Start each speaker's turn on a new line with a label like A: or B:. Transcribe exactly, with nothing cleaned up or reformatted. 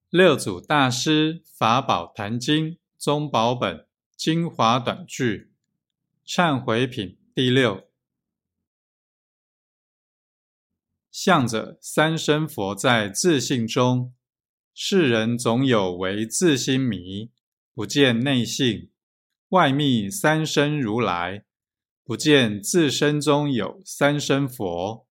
A: 六祖大师法宝坛经宗宝本精华短句忏悔品第六。向着三身佛在自性中，世人总有为自心迷，不见内性，外密三身如来，不见自身中有三身佛。